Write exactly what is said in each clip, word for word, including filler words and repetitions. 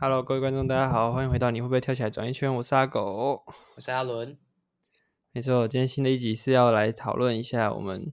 Hello，各位觀眾，大家好，歡迎回到你會不會跳起來轉一圈？我是阿狗， 我是阿倫。 沒錯，今天新的一集是要來討論一下我們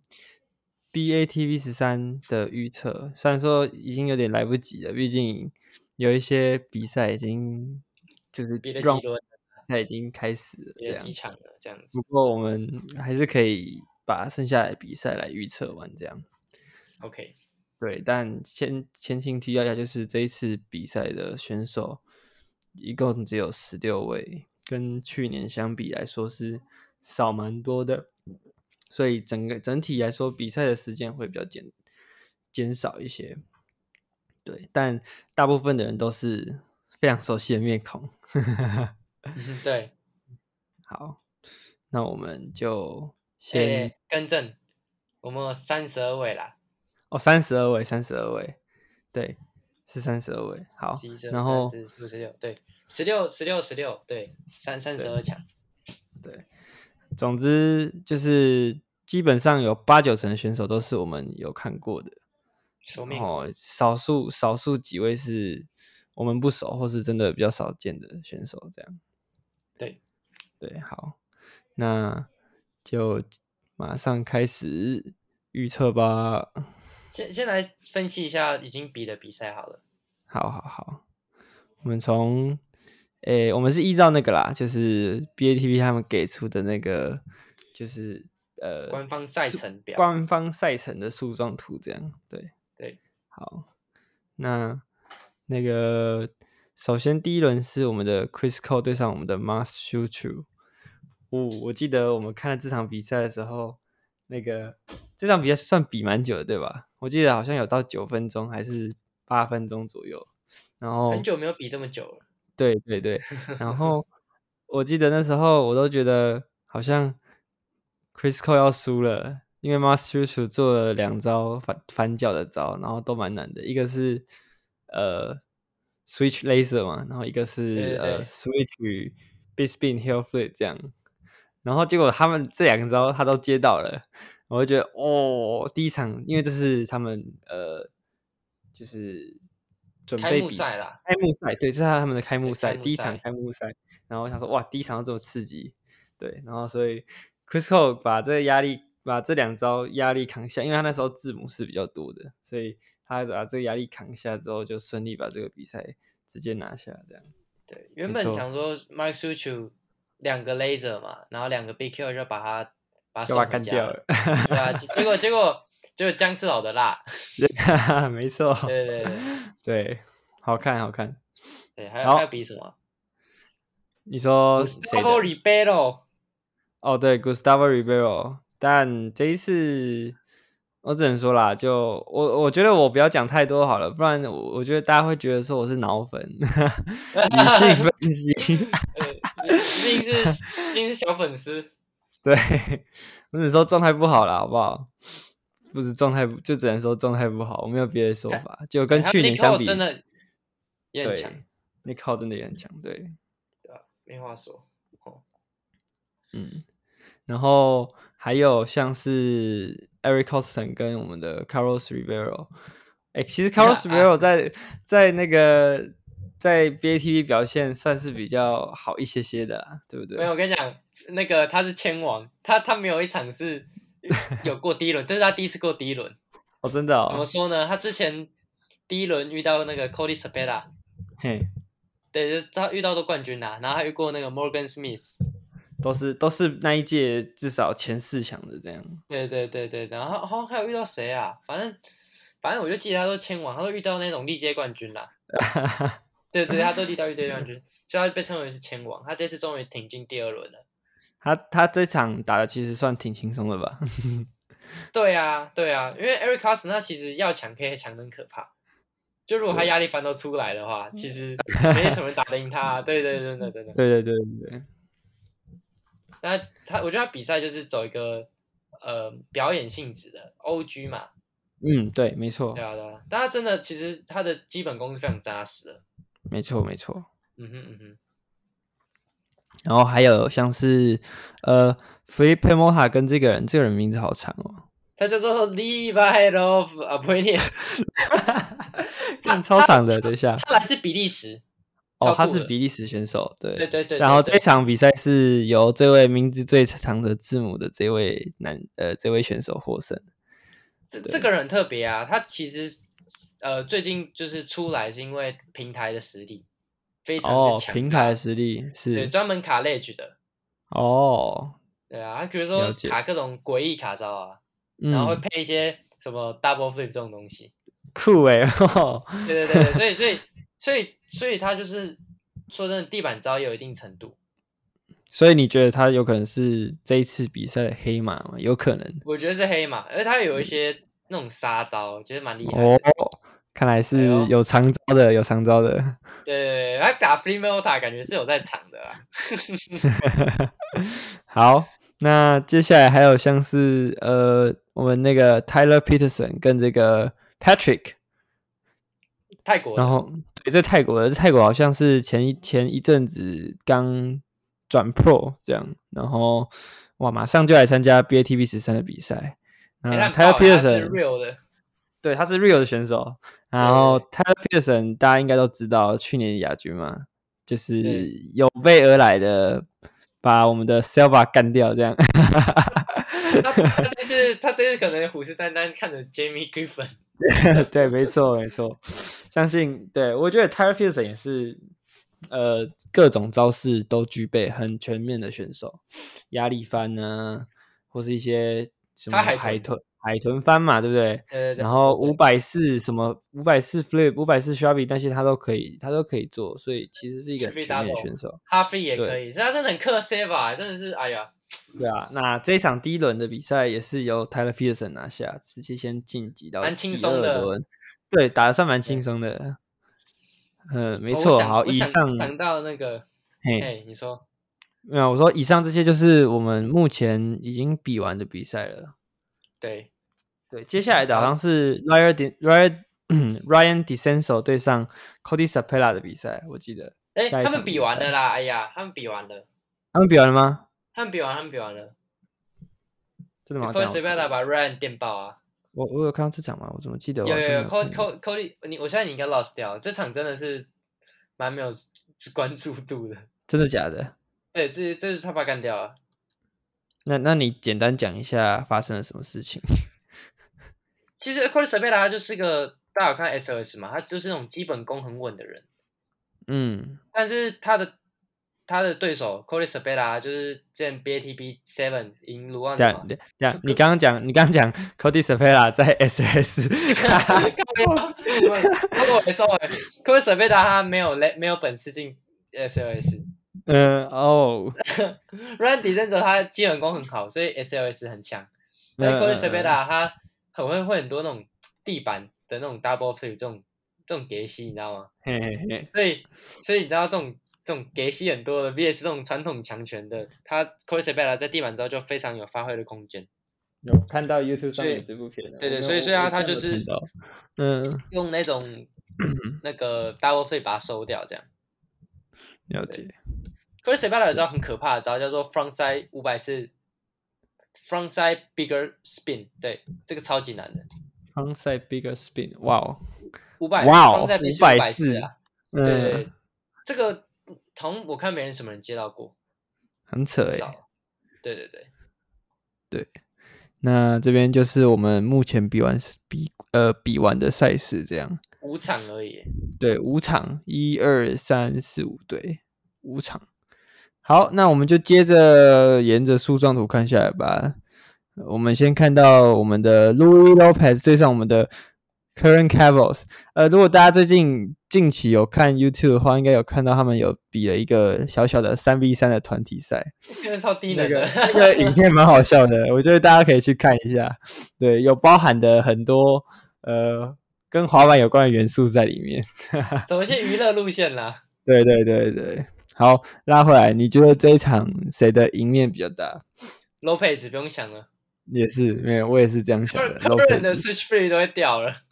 B A T V 十三的預測。雖然說已經有點來不及了，畢竟有一些比賽已經就是別的幾輪比賽已經開始了，這樣幾場了，這樣子。 不過我們還是可以把剩下的比賽來預測完，這樣。 OK。 對，但前前情提要一下，就是這一次比賽的選手一共只有十六位，跟去年相比來說是少蠻多的，所以整個整體來說比賽的時間會比較減減少一些。對，但大部分的人都是非常熟悉的面孔。 對， 好，那我們就先、 欸欸、更正，我們有三十二位啦。 哦，三十二位，三十二位，對，是三十二位。好，然後十十六，對，十六，十六，十六，對，三三十二強。 對，總之就是基本上有八九成的選手都是我們有看過的，然後少數少數幾位是我們不熟或是真的比較少見的選手，這樣。 對對，好，那就馬上開始預測吧。 先先來分析一下已經比的比賽好了。 好好好，我們從誒，我們是依照那個啦，就是 B A T V 他們給出的那個，就是呃官方賽程表， 官方賽程的樹狀圖這樣。對對， 好，那那個首先第一輪是我們的 Chris Cole 對上我們的 Mas Suciu。哦，我記得我們看了這場比賽的時候，那個這場比賽算比蠻久的，對吧？我記得好像有到九分鐘還是八分鐘左右，然後很久沒有比這麼久了。 對對對，然後我記得那時候我都覺得好像 Chris Cole 要輸了，因為 Mas Suciu 做了兩招反反腳的招，然後都蠻難的，一個是呃 Switch Laser 嘛，然後一個是對對對呃 Switch Big Spin Heel Flip 這樣，然後結果他們這兩招他都接到了。我就覺得哦，第一場因為這是他們呃，就是準備比賽啦，開幕賽，對，這是他們的開幕賽，第一場開幕賽。然後我想說，哇，第一場就這麼刺激，對，然後所以 Chris Cole 把這個壓力，把這兩招壓力扛下，因為他那時候字母是比較多的，所以他把這個壓力扛下之後，就順利把這個比賽直接拿下，這樣。 對，原本想說 Mas Suciu 兩個 Laser 嘛，然後兩個 Big Kill 就把他。把他幹掉了，對啊，結果結果就是薑吃老的辣， 沒錯， 對對對對，好看好看， 對，還有還有比什麼？ 你說誰 ？Gustavo Ribeiro， 哦，對 ，Gustavo Ribeiro，但這一次我只能說啦，就我我覺得我不要講太多好了，不然我我覺得大家會覺得說我是腦粉，理性分析， 畢竟是畢竟是小粉絲。 對，我只能說狀態不好啦，好不好？不是狀態，就只能說狀態不好，我沒有別的說法。就跟去年相比， 真的也很強。 Nick Cole真的也很強，對， 對啊，沒話說。哦， 嗯，然後還有像是 Eric Koston 跟我們的 Carlos Ribeiro， 哎，其實 Carlos Ribeiro 在、啊、在那個在 B A T V 表現算是比較好一些些的啦，對不對？ 沒有，我跟你講。那個他是籤王，他他沒有一場是有過第一輪，這是他第一次過第一輪。 哦，真的哦。 怎麼說呢？他之前第一輪遇到那個 Cody Sapela， 嘿， 對，就是他遇到的冠軍啦、啊，然後還遇過那個 Morgan Smith， 都是都是那一屆至少前四強的這樣。對對對對對，然後好像還有遇到誰啊？反正反正我就記得他都籤王，他都遇到那種歷屆冠軍啦。對對，他都遇到歷屆冠軍，所以他被稱為是籤王。他這次終於挺進第二輪了。 他他這場打的其實算挺輕鬆的吧？ 對啊，對啊，因為 Eric Koston 他其實要搶可以搶得很可怕，就如果他壓力反都出來的話，其實沒什麼人打得贏他、啊。對對對對對對對對對對對。 那他，我覺得他比賽就是走一個呃表演性質的 O G 嘛。 嗯，對，沒錯。 對啊對啊，但他真的其實他的基本功是非常扎實的。 沒錯沒錯。 嗯哼嗯哼。 然後還有像是呃 Felipe Mota 跟這個人，這個人名字好長哦， 他叫做 Levi Love 啊，不會念， 看超長的，等一下， 他來自比利時， 哦，他是比利時選手，對對對對。 然後這場比賽是由這位名字最長的字母的這位男呃這位選手獲勝。 這這個人很特別啊，他其實呃最近就是出來是因為平台的實力非常之強、哦。 平台的實力是對專門卡 ledge 的。哦。對啊，他比如說卡各種詭異卡招啊，然後會配一些什麼 double flip 這種東西。 酷哎、欸！哦、 對對對，所以所以所以所以他就是說真的，地板招也有一定程度。 所以你覺得他有可能是這一次比賽的黑馬嗎？有可能。我覺得是黑馬，而且他有一些那種殺招，覺得蠻厲害的。 哦，看來是有長招的，哎、有長招的。 對對對，他打 Flip Mota 感覺是有在場的啦。 好，那接下來還有像是呃，我們那個 Tyler Peterson 跟這個 Patrick。 泰國的， 然後對，在泰國的，泰國好像是前一前一陣子剛轉 Pro 這樣，然後哇，馬上就來參加 B A T B 十三的比賽。那 Tyler Peterson 對，他是 Real 的選手。然後 Tyler Peterson 大家應該都知道，去年的亞軍嘛，就是有備而來的，把我們的 Silva 幹掉這樣。 他他這次他這次可能虎視眈眈看着 Jamie Griffin。 對，沒錯沒錯。相信對，我覺得 Tyler Peterson 也是，呃，各種招式都具備，很全面的選手，壓力翻呢，或是一些什麼海豚海豚翻嘛，對不對？對對對。然後五百四什麼五百四 flip、五百四 shrubby 那些他都可以，他都可以做，所以其實是一個很全面的選手。 哈飛也可以，所以他真的很克 Silva，真的是哎呀。 對啊，那這一場第一輪的比賽也是由 Tyler Peterson 拿下，直接先晉級到第二輪。蠻輕鬆的。對，打得算蠻輕鬆的。嗯，沒錯。好，以上講到那個，嘿，你說， 沒有，我說以上這些就是我們目前已經比完的比賽了。 對， 對，接下來的好像是 Ryan Ryan Ryan DeCenzo 對上 Cody Sapela 的比賽，我記得。 哎，他們比完了啦！哎呀，他們比完了。 他們比完了嗎？ 他們比完，他們比完了。 真的嗎 ？Cody Sapela 把 Ryan 電爆啊！ 我我有看到這場嗎？我怎麼記得有有有 Cody Cody 你我現在你應該 lost 掉了，這場真的是蠻沒有關注度的。 真的假的？ 對，這這是他把幹掉了。 那那你簡單講一下發生了什麼事情？ 其實 Cody Sapela 他就是個大家有看 S L S 嘛，他就是那種基本功很穩的人。嗯，但是他的。他的對手 Cody Sapela 就是之前 B A T B 七贏盧旺的嘛。對對，你剛剛講，你剛剛講 Cody Sapela 在 S S。 我沒說哎 ，Cody Sapela 他沒有沒有本事進 S L S。 嗯哦。 Ryan DeCenzo 他基本功很好，所以 S L S 很強。但 Cody Sapela 他很會會很多那種地板的那種 double flip 這種這種給息，你知道嗎？嘿嘿嘿。所以所以你知道這種。這種給息很多的 V S 這種傳統強權的，他 Cody Sapela 在地板之後就非常有發揮的空間。 有看到 YouTube 上面這部片的， 對對，所以所以他他就是嗯，用那種那個 double flip 把它收掉，這樣。 了解。 Cody Sapela 有招很可怕的招，叫做 frontside 五百四 frontside bigger spin， 對，這個超級難的。 frontside bigger spin， 哇哦， 五百， 哇哦， 五百四啊，對對，這個。從我看沒人什麼人接到過， 很扯哎、欸。 對對對對，那這邊就是我們目前比完比呃比完的賽事這樣， 五場而已。 對，五場，一二三四五，對，五場。好，那我們就接着沿着樹狀圖看下來吧。我們先看到我們的 Louis Lopez 對上我們的 Curren Cavils。呃，如果大家最近近期有看 YouTube 的話，應該有看到他們有比了一個小小的 三 v 三 的團體賽， 真的超低能的。 那個那個影片蠻好笑的，我覺得大家可以去看一下。對，有包含的很多呃跟滑板有關的元素在裡面， 走一些娛樂路線啦。 對對對對，好，拉回來，你覺得這一場誰的贏面比較大 ？Lopez 不用想了。也是，沒有，我也是這樣想的。 Curren 的 switch free 都會掉了。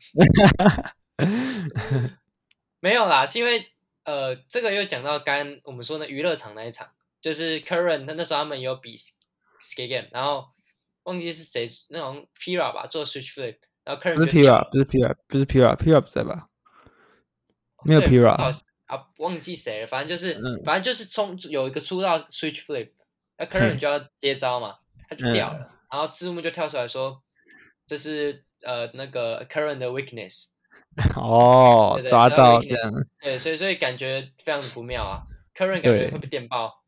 沒有啦，是因為呃，這個又講到剛剛我們說的娛樂場那一場，就是 Curren 那那時候他們有比 skate game， 然後忘記是誰，那種 Pira 吧做 switch flip， 然後 Curren 不是 Pira， 不是 Pira， 不是 Pira， Pira 不在吧？沒有 Pira， 啊，忘記誰了，反正就是， 嗯、 反正就是衝有一個出到 switch flip，那 Curran 就要接招嘛，他就掉了，嗯、然後字幕就跳出來說，這是呃那個 Curran 的 weakness。 哦， 對對抓到這樣。 對，所以所以感覺非常的不妙啊 ，Curran 感覺會被電爆。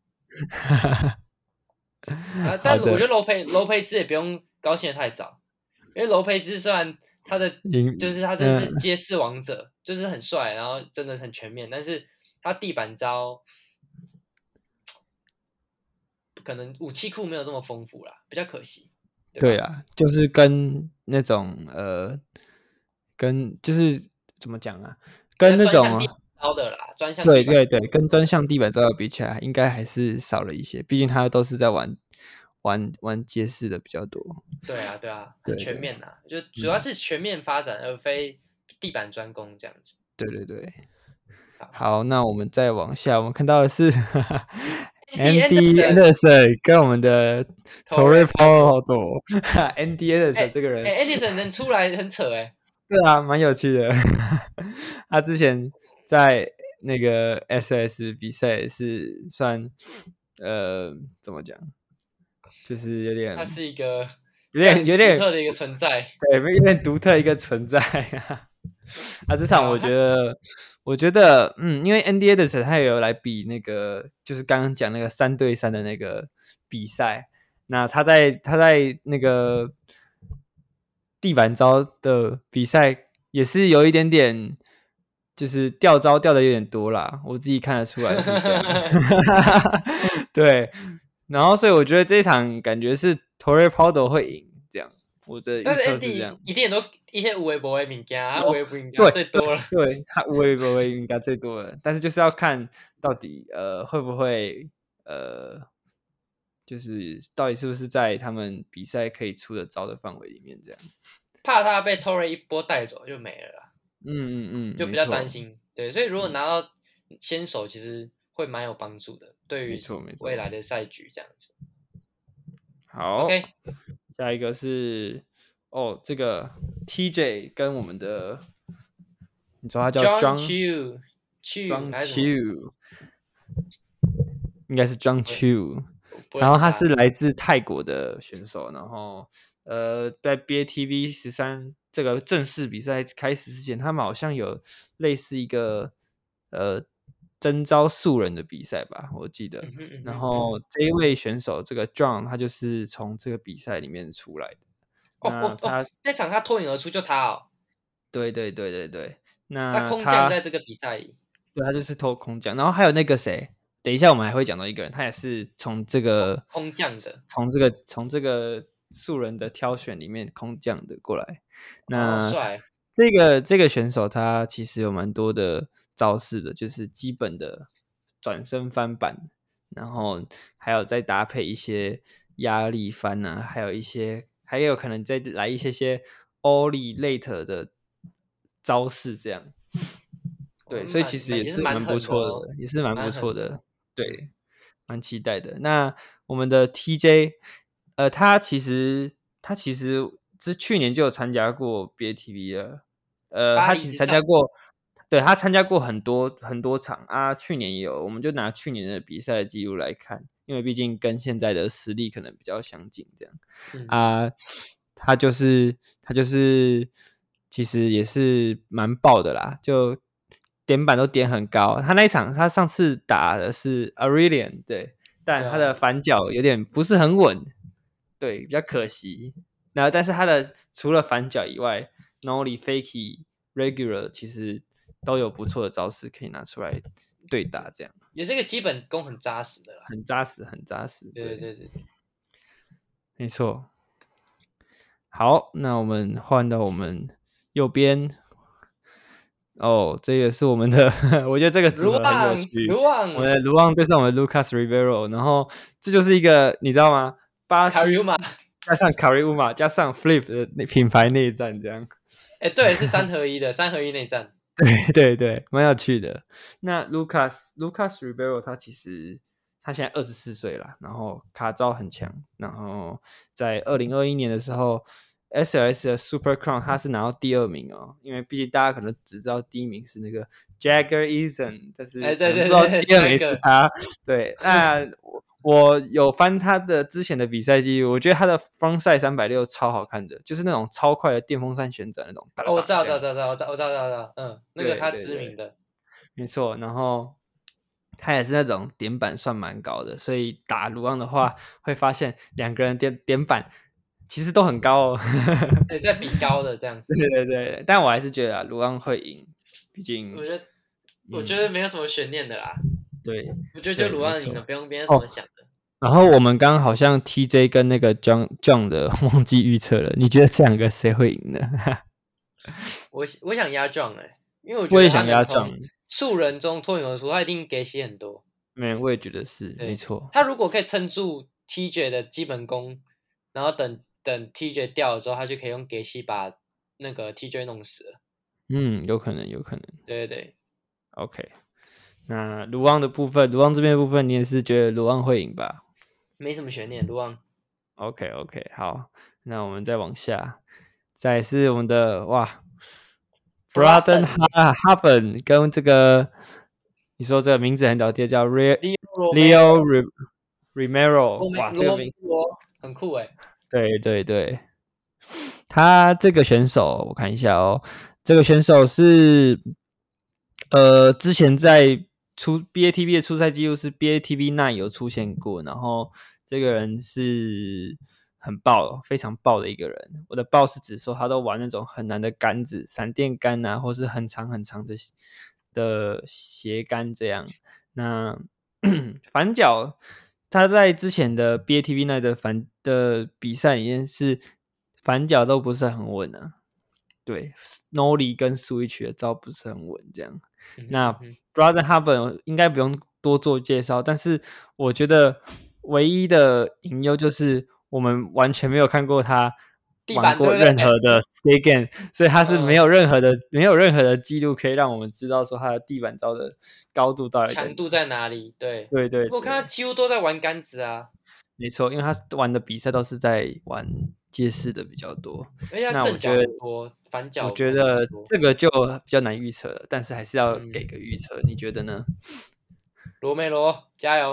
啊，但我覺得 Lopez Lopez 也不用高興的太早，因為 Lopez 雖然他的就是他真的是街式王者，嗯、就是很帥，然後真的很全面，但是他地板招可能武器庫沒有這麼豐富啦，比較可惜。對， 對啊，就是跟那種呃，跟就是怎麼講啊，跟那種高的啦，專項對對對，跟專項地板招比起來，應該還是少了一些，畢竟他都是在玩。玩玩街式的比較多， 對啊對啊，很全面吶、啊，就主要是全面發展，嗯、而非地板專攻這樣子。對對對， 好，好，那我們再往下，我們看到的是 Andy Anderson 跟我們的 Torrey Pratto。Andy Anderson 這個人、 欸欸、，Anderson 能出來很扯哎、欸。 對啊，蠻有趣的。他之前在那個 S S 比賽是算呃怎麼講？就是有點， 它是一個有點有點獨特的一個存在， 對，有點獨特一個存在啊。啊，這場我覺得，我覺得，嗯，因為 Andy Anderson 他也有來比那個，就是剛剛講那個三對三的那個比賽。那他在他在那個地板招的比賽也是有一點點，就是掉招掉的有點多啦，我自己看得出來是這樣。對。然後，所以我覺得這一場感覺是 Torrey Pratto 會贏，這樣我的預測是這樣。 一定都一些無微博的物件，他無微博應該最多了。 對，對他無微博應該最多了，但是就是要看到底呃會不會呃，就是到底是不是在他們比賽可以出的招的範圍裡面這樣。 怕他被 Torrey 一波帶走就沒了啦。 嗯嗯嗯， 就比較擔心。對，所以如果拿到先手，其實會蠻有幫助的，對於未來的賽局這樣子。 好 ，OK， 下一個是哦，這個 T J 跟我們的，你知道他叫 John Chu，Chu，John Chu，應該是 John Chu，然後他是來自泰國的選手，然後呃，在 B A T V 十三這個正式比賽開始之前，他們好像有類似一個呃。徵召素人的比賽吧，我記得。嗯嗯嗯、然後這一位選手，這個 John，他就是從這個比賽裡面出來的。 哦哦哦，那場他脫穎而出，就他哦。 對對對對對，那他空降在這個比賽裡。 對，他就是偷空降。然後還有那個誰，等一下我們還會講到一個人，他也是從這個空降的，從這個從這個素人的挑選裡面空降的過來。那、 哦、帥。 這個這個選手他其實有蠻多的招式的，就是基本的轉身翻板，然後還有再搭配一些壓力翻啊，還有一些還有可能再來一些些 Ollie late 的招式這樣。對，所以其實也是蠻不錯的，也是蠻不錯的，對，蠻期待的。那我們的 T J， 呃，他其實他其實是去年就有參加過 B A T V 了，呃，他其實參加過。對，他參加過很多很多場啊，去年也有，我們就拿去年的比賽記錄來看，因為畢竟跟現在的實力可能比較相近，這樣、嗯、啊，他就是他就是其實也是蠻爆的啦，就點板都點很高。他那一場他上次打的是 Aurelian， 對，但他的反腳有點不是很穩，對，比較可惜。然後但是他的除了反腳以外 ，Nollie Fakie、Regular 其實都有不錯的招式可以拿出來對打，這樣也是一個基本功很扎實的啦， 很扎實，很扎實。 對對對對， 沒錯。好，那我們換到我們右邊。哦，這個是我們的，我覺得這個組合很有趣。 盧旺， 我們的盧旺對上我們的 Lucas Ribeiro， 然後這就是一個你知道嗎？巴西加上卡瑞烏馬加上 Flip 的品牌內戰，這樣。 哎、欸，對，是三合一的，三合一內戰。 對對對，蠻有趣的。那 Lucas Lucas Ribeiro 他其實他現在二十四歲了，然後卡招很強，然後在二零二一年的時候， S L S 的 Super Crown 他是拿到第二名哦，因為畢竟大家可能只知道第一名是那個 Jagger Eason， 但是可能不知道第二名是他。欸、對，對，那我我有翻他的之前的比賽記錄，我覺得他的 Frontside 三百六十超好看的，就是那種超快的電風扇旋轉那種。 哦，我知道，知道，知道，我知道，我知道，知道，知道，嗯，那個他知名的，對對對， 沒錯。然後他也是那種點板算蠻高的，所以打盧昂的話，會發現兩個人點點板其實都很高哦。 對，在比高的這樣子。 對對對，但我還是覺得盧昂會贏，畢竟我覺得、嗯、我覺得沒有什麼懸念的啦。對，我覺得就盧昂贏了，不用別人怎麼想的。哦， 然後我們剛剛好像 T J 跟那個 John John 的忘記預測了，你覺得這兩個誰會贏呢？ 我我想壓 John 哎、欸，因為我覺得他能從素人中脫穎而出，他一定給洗很多。 沒，我也覺得是沒錯。 他如果可以撐住 T J 的基本功，然後等等 T J 掉了之後，他就可以用給洗把那個 T J 弄死了。 嗯，有可能，有可能。 對對對 ，OK。那盧昂的部分，盧昂這邊的部分，你也是覺得盧昂會贏吧？ 沒什麼懸念，盧昂。 OK OK， 好，那我們再往下，再來是我們的哇 ，Braden Harpen 跟這個，你說這個名字很屌，叫 Leo Leo Romero， 哇，這個名字很酷哎。 對對對，他這個選手我看一下哦，這個選手是呃之前在出 B A T B 的出賽記錄是 B A T B 九有出現過，然後這個人是很爆，非常爆的一個人。我的爆是指說他都玩那種很難的桿子，閃電桿啊，或是很長很長的的斜桿這樣。那反腳他在之前的 B A T B 九的反的比賽裡面是反腳都不是很穩啊。對 ，Nollie 跟 Switch 的招不是很穩這樣。嗯、那 Braden Harpen 應該不用多做介紹，但是我覺得唯一的隱憂就是我們完全沒有看過他玩過任何的 skate game，所以他是沒有任何的、嗯、沒有任何的記錄可以讓我們知道說他的地板招的高度到底強度在哪裡。對對 對, 對， 我看他幾乎都在玩桿子啊。 沒錯，因為他玩的比賽都是在玩街式的比較多， 那我覺得反腳我覺得這個就比較難預測了，但是還是要給個預測，嗯、你覺得呢？ 羅梅羅加油！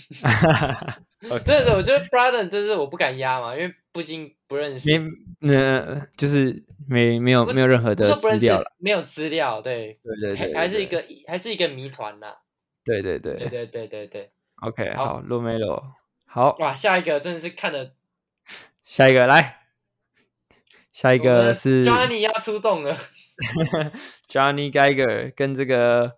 對對，我覺得 Braden 就是我不敢壓嘛，因為畢竟不認識， 沒呃，就是沒沒有沒有任何的資料了， 沒有資料，對對對 對, 對， 還是一個還是一個謎團吶。 對對對對對對對對 ，OK， 好，羅梅羅，好哇，下一個真的是看的， 下一個來。下一個是 Johnny 要出動了 ，Johnny Geiger 跟這個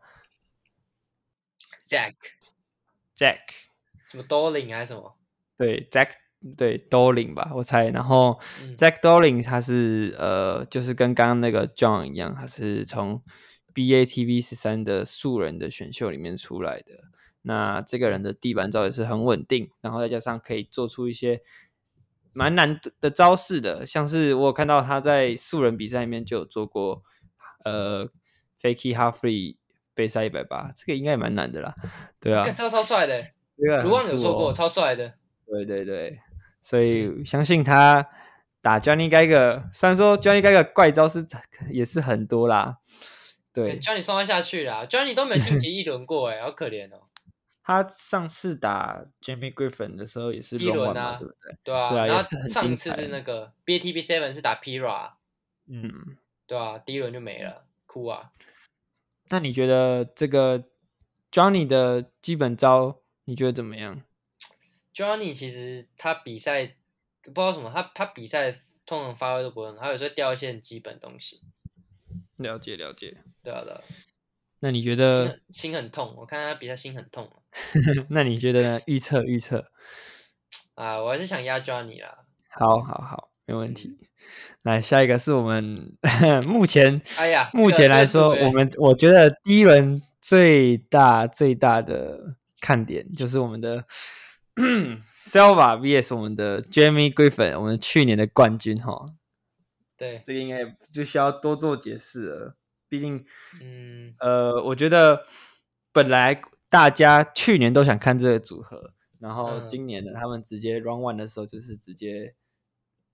Jack Jack 什麼 Dolin 還是什麼？ 對 Jack 對 Dolin 吧，我猜。然後、嗯、Jack Dolin 他是呃，就是跟剛剛那個 John 一樣，他是從 B A T B 十三的素人的選秀裡面出來的。那這個人的地板招也是很穩定，然後再加上可以做出一些蠻難的招式的，像是我有看到他在素人比賽裡面就有做過，呃 ，Fakie Half Free 背塞一百八，這個應該也蠻難的啦，對啊， 這個超帥的，盧旺有做過，超帥的，對對對，所以相信他打 Johnny Geiger，雖然說 Johnny Geiger 怪招是也是很多啦，對 ，Johnny 送他下去啦 ，Johnny 都沒晉級一輪過，哎，好可憐哦。 他上次打 Jamie Griffin 的時候也是一輪啊， 對不對？ 對啊， 對啊， 然後也是很精彩。 上次是那個 B A T B 七是打 Pira， 嗯， 對啊，第一輪就沒了，哭啊。 那你覺得這個 Johnny 的基本招你覺得怎麼樣 ？Johnny 其實他比賽不知道什麼，他他比賽通常發揮都不會很好，他有時候掉一些很基本東西。 了解了解， 對啊對啊。 那你覺得心很，心很痛？我看他比賽心很痛。 那你覺得呢？預測預測啊，我還是想壓 Johnny 啦。 好，好，好，沒問題。嗯、來，下一個是我們目前， 哎呀， 目前來說，我們我覺得第一輪最大最大的看點就是我們的 Silva V S 我們的 Jamie Griffin， 我們去年的冠軍哈。 對， 這個應該就需要多做解釋了。畢竟， 嗯， 呃，我覺得本來大家去年都想看這個組合，然後今年呢，嗯、他們直接 round one 的時候就是直接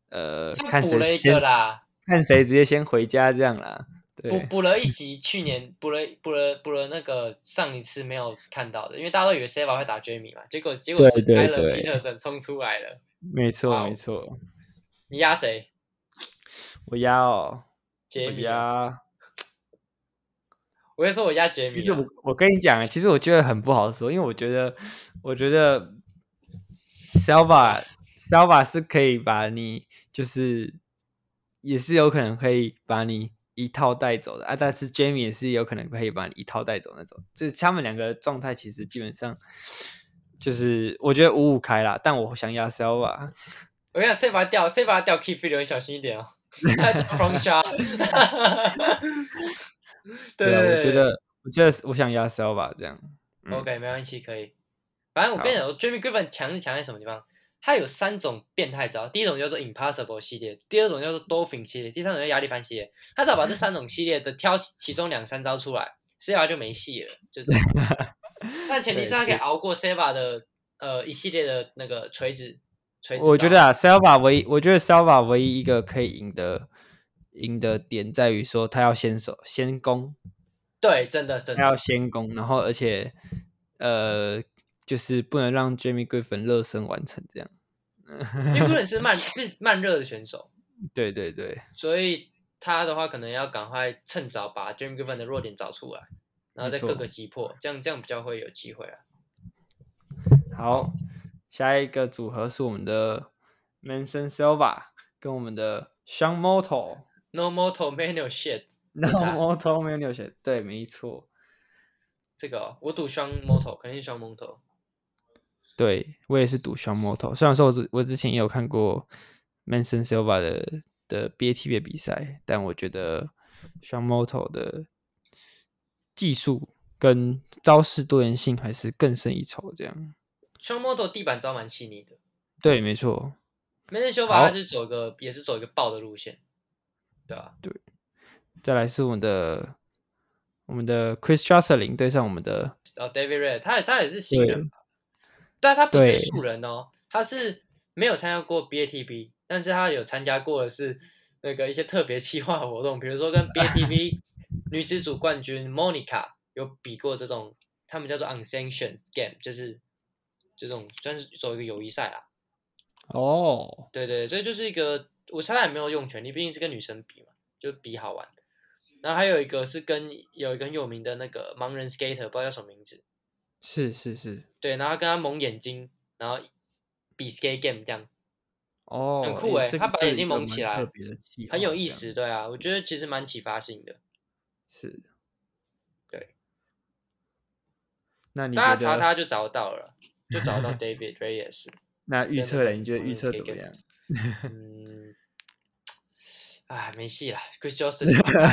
呃， 像看誰補了一先個啦， 看誰直接先回家這樣啦。對， 補補了一集，去年補了補了補了那個上一次沒有看到的，因為大家都以為 Seva 會打 Jamie 嘛，結果結果是 Tyler Peterson 衝出來了。 沒錯、wow, 沒錯。 你壓誰？ 我壓哦， 傑米。 我壓。 我跟你說，我壓傑米。 其實我我跟你講，其實我覺得很不好說，因為我覺得我覺得 Selva Selva 是可以把你就是也是有可能可以把你一套帶走的啊，但是 Jamie 也是有可能可以把你一套帶走那種，就是他們兩個狀態其實基本上就是我覺得五五開啦，但我想壓 Selva。 我跟你講，Seva 掉 Seva 掉 Keep Fit 很小心一點哦。From shot 對, 對, 對, 對， 我覺得我覺得我想壓 Selva 這樣。 嗯、OK， 沒關係，可以。反正我跟你講，Jamie Griffin 強是強在什麼地方？他有三種變態招，第一種叫做 Impossible 系列，第二種叫做 Dolphin 系列，第三種叫壓力帆系列。他只要把這三種系列的挑其中兩三招出來 ，Seva 就沒戲了，就這樣。但前提是他可以熬過 Seva 的呃一系列的那個錘子。錘子我覺得啊 ，Selva 唯一，我覺得 Selva 唯一一個可以贏的贏的點在於說他要先手先攻。 對，真的真的。他要先攻，然後而且呃。就是不能讓 Jamie Griffin 熱身完成這樣。 Jamie Griffin 是慢是慢熱的選手， 對對對， 所以他的話可能要趕快趁早把 Jamie Griffin 的弱點找出來，然後再各個擊破，這樣這樣比較會有機會啊。 好，下一個組合是我們的 Manson Silva 跟我們的 Sean Moto。No Moto Manual Shit。No Moto Manual Shit。對，沒錯。 這個、哦、我賭 Sean Moto， 肯定是 Sean Moto。 對，我也是賭 Sean Moto， 雖然說我之我之前也有看過 Manson Silva 的的 B A T B 的比賽，但我覺得 Sean Moto 的技術跟招式多元性還是更勝一籌。這樣 Sean Moto 地板招蠻細膩的， 對，沒錯。 Manson Silva 他就是走一個也是走一個爆的路線，對吧、啊？ 對，再來是我們的我們的 Chris Jocelyn 對上我們的哦 David Red， 他他也是新人。但他不是素人哦，他是沒有參加過 B A T B， 但是他有參加過的是那個一些特別企劃活動，比如說跟 B A T B 女子組冠軍 Monica 有比過這種，他們叫做 unsanctioned game， 就是這種算是走一個友誼賽啦。 哦、oh. ， 對對，所以就是一個，我猜他也沒有用全力，畢竟是跟女生比嘛，就比好玩。然後還有一個是跟有一個很有名的那個盲人 skater， 不知道叫什麼名字。 是是是， 對，然後跟他蒙眼睛，然後比 skate game 這樣， 哦， 很酷哎、欸，他把眼睛蒙起來，很有意思，對啊，我覺得其實蠻啟發性的， 是， 對， 那你大家查他就找得到了，就找到 David Reyes。 那預測了，你覺得預測怎麼樣？ 嗯，哎，沒戲了 ，Chris Jocelyn，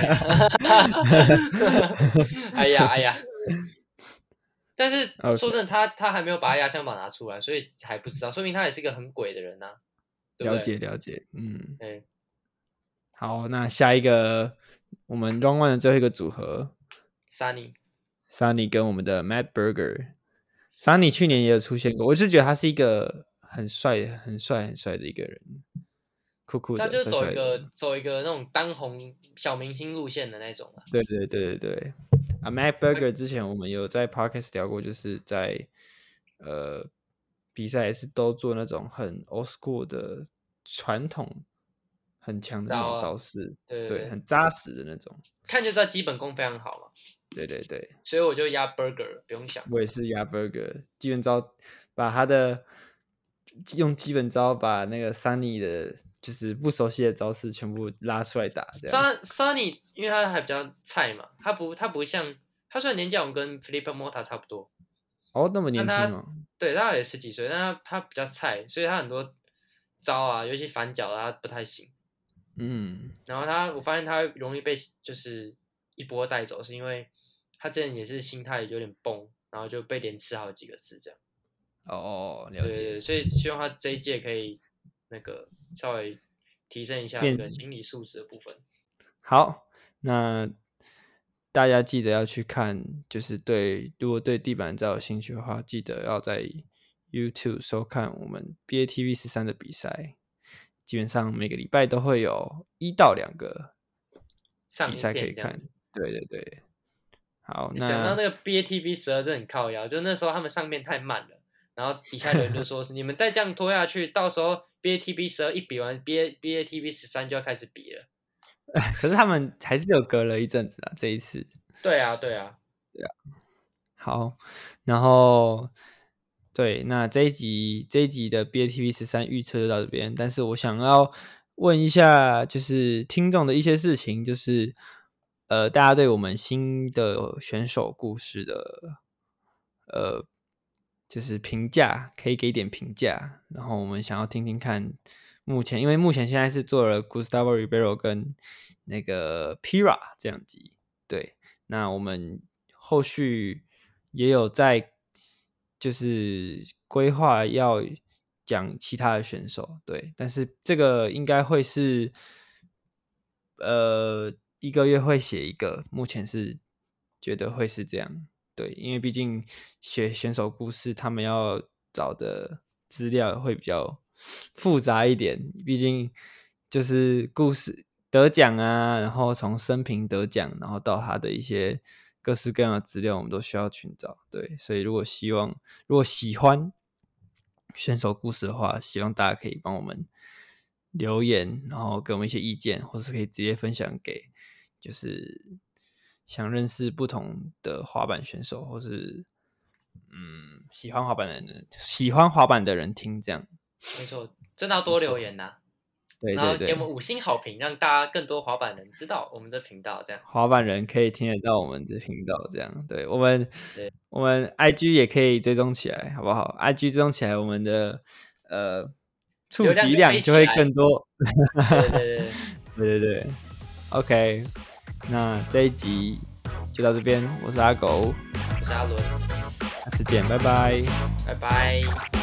哎呀哎呀。但是說真的，他他還沒有把他壓箱寶拿出來，所以還不知道，說明他也是一個很鬼的人吶、啊。 了解了解，嗯， 對。 好，那下一個我們 Round One 的最後一個組合 ，Sunny Sunny 跟我們的 Matt Berger。Sunny 去年也有出現過，我是覺得他是一個很帥、很帥、很帥的一個人，酷酷的。 他就走一個帥帥的走一個那種當紅小明星路線的那種、啊、 對對對對對。啊 ，Matt Berger 之前我們有在 Podcast 聊過，就是在呃比賽也是都做那種很 old school 的傳統很強的那種招式，啊、對, 對, 對，很扎實的那種， 看就知道基本功非常好嘛。 對對對， 所以我就壓 Berger， 不用想。 我也是壓 Berger， 基本招把他的用基本招把那個 Sunny 的，就是不熟悉的招式全部拉出來打。 Sunny 因為他還比較菜嘛，他不他不像他雖然年紀我跟 Felipe Mota 差不多， 哦，那麼年輕嗎？ 對，他也十幾歲，但他他比較菜，所以他很多招啊，尤其反腳他不太行。 嗯，然後他我發現他容易被就是一波帶走，是因為他之前也是心態有點崩，然後就被連吃好幾個字這樣。 哦，了解。 對，所以希望他這一屆可以那個稍微提升一下那個心理素質的部分。 好，那大家記得要去看，就是對，如果對地板招有興趣的話，記得要在 YouTube 收看我們 B A T B 十三的比賽。 基本上每個禮拜都會有一到兩個比賽可以看。對對對，好，那講到那個 B A T V 十二真的很靠腰，就那時候他們上面太慢了，然後底下的人就說是你們再這樣拖下去，到時候 B A T V 十二一比完，B A B A T V 十三就要開始比了。 可是他們還是有隔了一陣子啊，這一次。 對啊，對啊， 對啊。好，然後對，那這一集這一集的 B A T V 十三預測就到這邊，但是我想要問一下，就是聽眾的一些事情，就是呃，大家對我們新的選手故事的呃，就是評價，可以給點評價，然後我們想要聽聽看。目前，因為目前現在是做了 Gustavo Ribeiro 跟那個 Pira 這樣集，對，那我們後續也有在就是規劃要講其他的選手，對，但是這個應該會是呃一個月會寫一個，目前是覺得會是這樣，對，因為畢竟寫選手故事，他們要找的資料會比較複雜一點，畢竟就是故事得獎啊，然後從生平得獎，然後到他的一些各式各樣的資料，我們都需要尋找。對，所以如果希望，如果喜歡選手故事的話，希望大家可以幫我們留言，然後給我們一些意見，或是可以直接分享給就是想認識不同的滑板選手，或是嗯喜歡滑板的人，喜歡滑板的人聽這樣。 沒錯，真的要多留言吶、啊， 對對對， 然後給我們五星好評，讓大家更多滑板人知道我們的頻道，這樣滑板人可以聽得到我們的頻道，這樣對我們，對我們 I G 也可以追蹤起來，好不好 ？I G 追蹤起來，我們的呃觸及量就會更多。 對對對對對對對 ，OK， 那這一集就到這邊，我是阿狗， 我是阿倫， 下次見，拜拜， 拜拜。